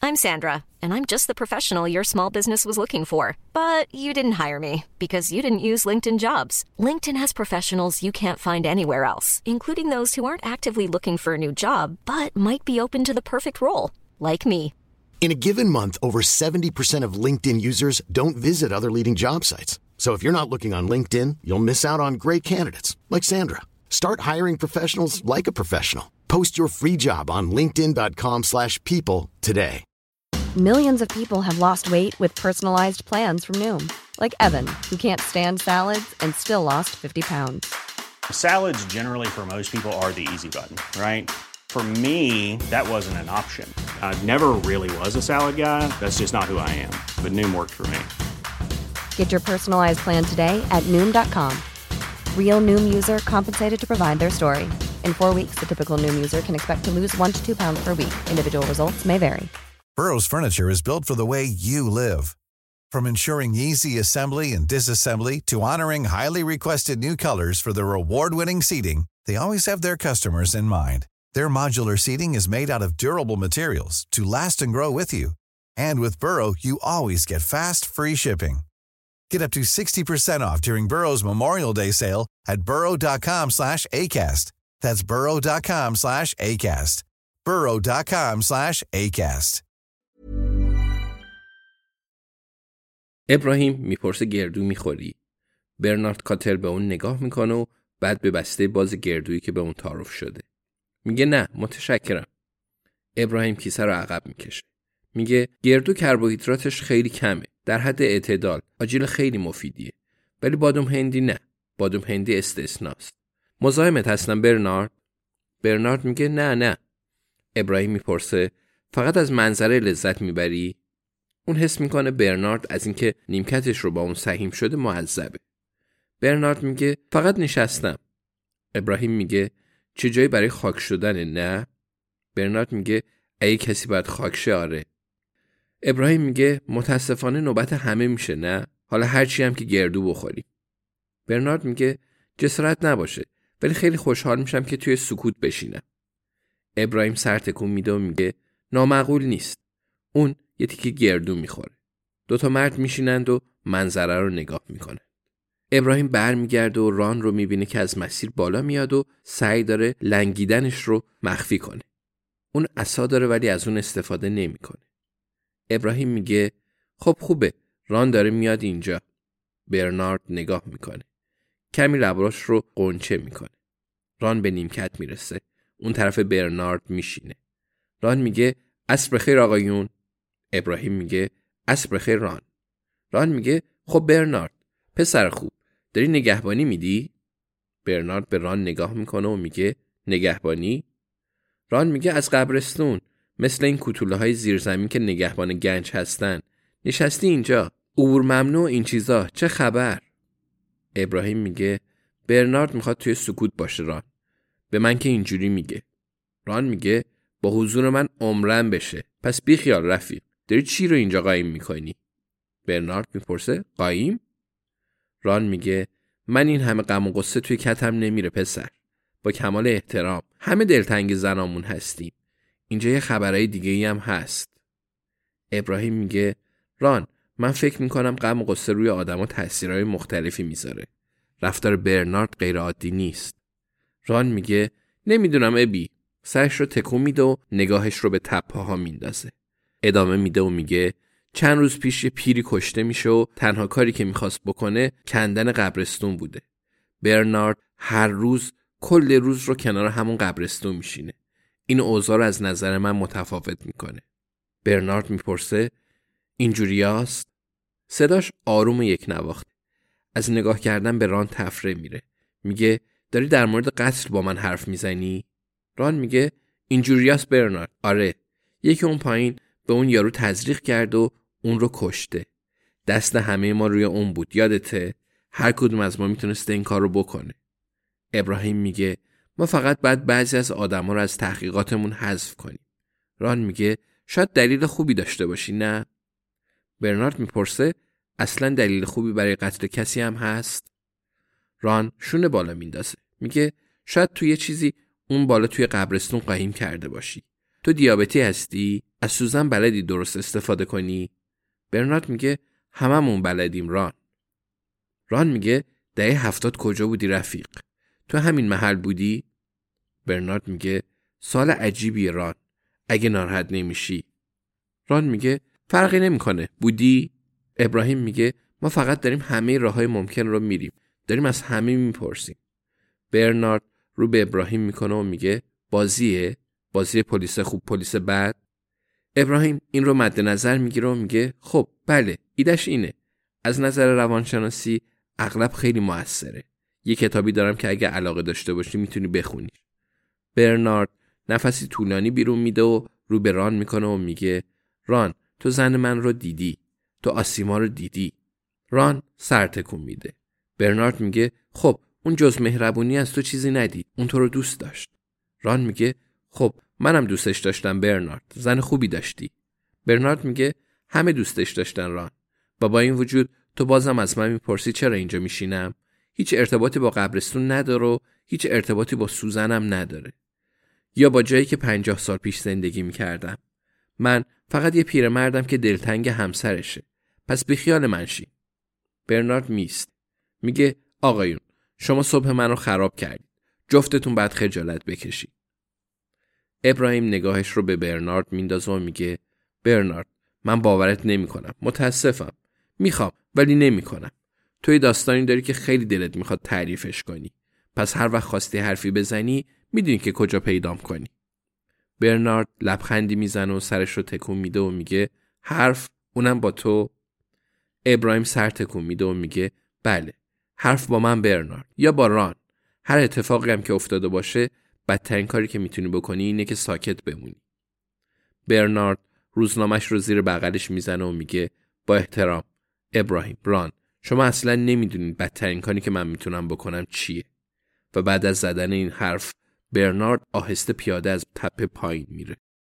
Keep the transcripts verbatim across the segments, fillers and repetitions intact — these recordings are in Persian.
I'm Sandra, and I'm just the professional your small business was looking for. But you didn't hire me because you didn't use LinkedIn Jobs. LinkedIn has professionals you can't find anywhere else, including those who aren't actively looking for a new job, but might be open to the perfect role, like me. In a given month, over seventy percent of LinkedIn users don't visit other leading job sites. So if you're not looking on LinkedIn, you'll miss out on great candidates like Sandra. Start hiring professionals like a professional. Post your free job on linkedin dot com slash people today. Millions of people have lost weight with personalized plans from Noom. Like Evan, who can't stand salads and still lost fifty pounds. Salads generally for most people are the easy button, right? For me, that wasn't an option. I never really was a salad guy. That's just not who I am. But Noom worked for me. Get your personalized plan today at noom dot com. Real Noom user compensated to provide their story. In four weeks, the typical Noom user can expect to lose one to two pounds per week. Individual results may vary. Burrow's furniture is built for the way you live. From ensuring easy assembly and disassembly to honoring highly requested new colors for their award-winning seating, they always have their customers in mind. Their modular seating is made out of durable materials to last and grow with you. And with Burrow, you always get fast, free shipping. Get up to sixty percent off during Burrow's Memorial Day sale at burrow dot com slash acast. That's burrow dot com slash acast. burrow dot com slash acast. ابراهیم میپرسه گردو میخوری؟ برنارد کاتر به اون نگاه میکنه و بعد به بسته باز گردویی که به اون تعارف شده. میگه نه متشکرم. ابراهیم کیسه رو عقب میکشه. میگه گردو کربوهیدراتش خیلی کمه. در حد اعتدال. آجیل خیلی مفیدیه. ولی بادام هندی نه. بادام هندی استثناست. مزاحمت هستم برنارد؟ برنارد میگه نه نه. ابراهیم میپرسه فقط از منظره لذت میبری؟ اون حس میکنه برنارد از اینکه نیمکتش رو با اون سهیم شده معذبه. برنارد میگه فقط نشستم. ابراهیم میگه چه جایی برای خاک شدن نه؟ برنارد میگه اگه کسی باید خاک شه آره. ابراهیم میگه متاسفانه نوبت همه میشه نه؟ حالا هرچی هم که گردو بخوریم. برنارد میگه جسارت نباشه ولی خیلی خوشحال میشم که توی سکوت بشینم. ابراهیم سر تکون میده و میگه نامعقول نیست. اون یه تیکه گردو میخوره. دوتا مرد میشینند و منظره رو نگاه میکنه. ابراهیم برمیگرده و ران رو میبینه که از مسیر بالا میاد و سعی داره لنگیدنش رو مخفی کنه. اون عصا داره ولی از اون استفاده نمیکنه. ابراهیم میگه خب خوبه ران داره میاد اینجا. برنارد نگاه میکنه. کمی لباش رو قنچه میکنه. ران به نیمکت میرسه. اون طرف برنارد میشینه. ران میگه عصر بخیر آقایون. ابراهیم میگه عصر بخیر ران. ران میگه خب برنارد پسر خوب داری نگهبانی میدی؟ برنارد به ران نگاه میکنه و میگه نگهبانی؟ ران میگه از قبرستون مثل این کوتوله های زیرزمین که نگهبان گنج هستن. نشستی اینجا عبور ممنوع این چیزا چه خبر؟ ابراهیم میگه برنارد میخواد توی سکوت باشه ران. به من که اینجوری میگه. ران میگه با حضور من عمرم بشه. پس بی خیال رفیق. داری چی رو اینجا قایم میکنی؟ برنارد میپرسه قایم؟ ران میگه من این همه غم و غصه توی کتم نمیره پسر. با کمال احترام همه دلتنگ زنامون هستیم. اینجا یه خبرای دیگه ای هم هست. ابراهیم میگه ران من فکر میکنم غم و غصه روی آدما تاثیرهای مختلفی میذاره. رفتار برنارد غیر عادی نیست. ران میگه نمیدونم ابی. سرش رو تکون میده و نگاهش رو به تپه‌ها میندازه. ادامه میده و میگه چند روز پیش یه پیری کشته میشه و تنها کاری که میخواست بکنه کندن قبرستون بوده. برنارد هر روز کل روز رو کنار همون قبرستون میشینه. این اوضاع رو از نظر من متفاوت میکنه. برنارد میپرسه اینجوریاست؟ صداش آروم و یک نواخته. از نگاه کردن به ران تفره میره. میگه داری در مورد قتل با من حرف میزنی؟ ران میگه اینجوریاست برنارد. آره. یکی اون پایین به اون یارو تزریق کرد و اون رو کشته. دست همه ما روی اون بود. یادته؟ هر کدوم از ما میتونسته این کار رو بکنه. ابراهیم میگه ما فقط باید بعضی از آدما رو از تحقیقاتمون حذف کنیم. ران میگه شاید دلیل خوبی داشته باشی نه؟ برنارد میپرسه اصلا دلیل خوبی برای قتل کسی هم هست؟ ران شونه بالا میندازه. میگه شاید تو یه چیزی اون بالا توی قبرستون قایم کرده باشی. تو دیابتی هستی؟ از سوزن بلدی درست استفاده کنی؟ برنارد میگه هممون بلدیم ران. ران میگه دهه هفتاد کجا بودی رفیق؟ تو همین محل بودی؟ برنارد میگه سال عجیبیه ران، اگه ناراحت نمیشی. ران میگه فرقی نمیکنه، بودی؟ ابراهیم میگه ما فقط داریم همه راههای ممکن رو میریم، داریم از همه میپرسیم. برنارد رو به ابراهیم میکنه و میگه بازیه؟ بازی پلیس خوب پلیس بد؟ ابراهیم این رو مد نظر میگیره و میگه خب بله، ایدش اینه. از نظر روانشناسی اغلب خیلی موثره. یه کتابی دارم که اگه علاقه داشته باشی میتونی بخونی. برنارد نفسی طولانی بیرون میده و رو به ران میکنه و میگه ران تو زن من رو دیدی، تو آسیما رو دیدی. ران سر تکون میده. برنارد میگه خب اون جز مهربونی از تو چیزی ندید، اون تو رو دوست داشت. ران میگه خب منم دوستش داشتم برنارد، زن خوبی داشتی. برنارد میگه همه دوستش داشتن ران، با با این وجود تو بازم از من میپرسی چرا اینجا میشینم؟ هیچ ارتباطی با قبرستون نداره و هیچ ارتباطی با سوزنم نداره، یا با جایی که پنجاه سال پیش زندگی میکردم. من فقط یه پیرمردم که دلتنگ همسرشه، پس بیخیال من شی. برنارد میست. میگه آقایون شما صبح منو خراب کردید، جفتتون باید خجالت بکشید. ابراهیم نگاهش رو به برنارد میندازه و میگه برنارد من باورت نمی کنم، متاسفم، میخوام ولی نمی کنم. توی داستانی داری که خیلی دلت میخواد تعریفش کنی، پس هر وقت خواستی حرفی بزنی میدونی که کجا پیدام کنی. برنارد لبخندی میزنه و سرش رو تکون میده و میگه حرف؟ اونم با تو؟ ابراهیم سر تکون میده و میگه بله، حرف با من برنارد، یا با ران. هر اتفاقی هم که افتاده باشه بدترین کاری که میتونی بکنی اینه که ساکت بمونی. برنارد روزنامه‌اش رو زیر بغلش میزنه و میگه با احترام ابراهیم، ران، شما اصلا نمیدونید بدترین کاری که من میتونم بکنم چیه. و بعد از زدن این حرف برنارد آهسته پیاده از تپه پایین میره.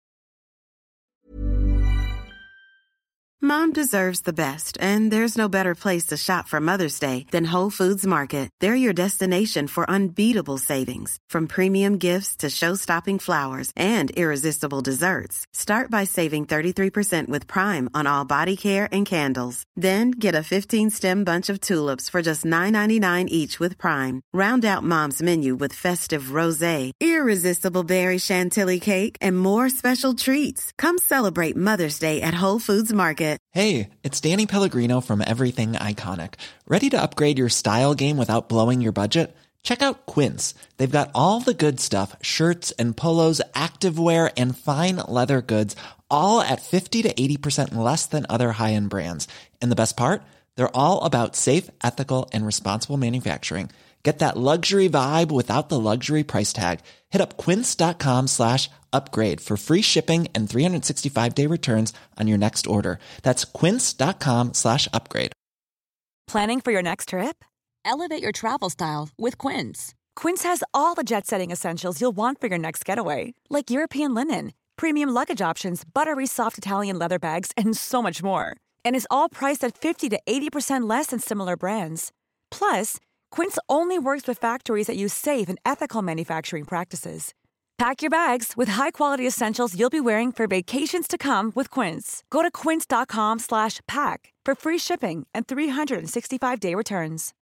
Mom deserves the best, and there's no better place to shop for Mother's Day than Whole Foods Market. They're your destination for unbeatable savings, from premium gifts to show-stopping flowers and irresistible desserts. Start by saving thirty-three percent with Prime on all body care and candles. Then get a fifteen-stem bunch of tulips for just nine ninety-nine each with Prime. Round out Mom's menu with festive rosé, irresistible berry chantilly cake, and more special treats. Come celebrate Mother's Day at Whole Foods Market. Hey, it's Danny Pellegrino from Everything Iconic. Ready to upgrade your style game without blowing your budget? Check out Quince. They've got all the good stuff, shirts and polos, activewear, and fine leather goods, all at fifty to eighty percent less than other high-end brands. And the best part? They're all about safe, ethical, and responsible manufacturing. Get that luxury vibe without the luxury price tag. Hit up quince.com slash upgrade for free shipping and three sixty-five day returns on your next order. That's quince.com slash upgrade. Planning for your next trip? Elevate your travel style with Quince. Quince has all the jet-setting essentials you'll want for your next getaway, like European linen, premium luggage options, buttery soft Italian leather bags, and so much more. And is all priced at fifty to eighty percent less than similar brands. Plus, Quince only works with factories that use safe and ethical manufacturing practices. Pack your bags with high-quality essentials you'll be wearing for vacations to come with Quince. Go to quince.com slash pack for free shipping and three sixty-five day returns.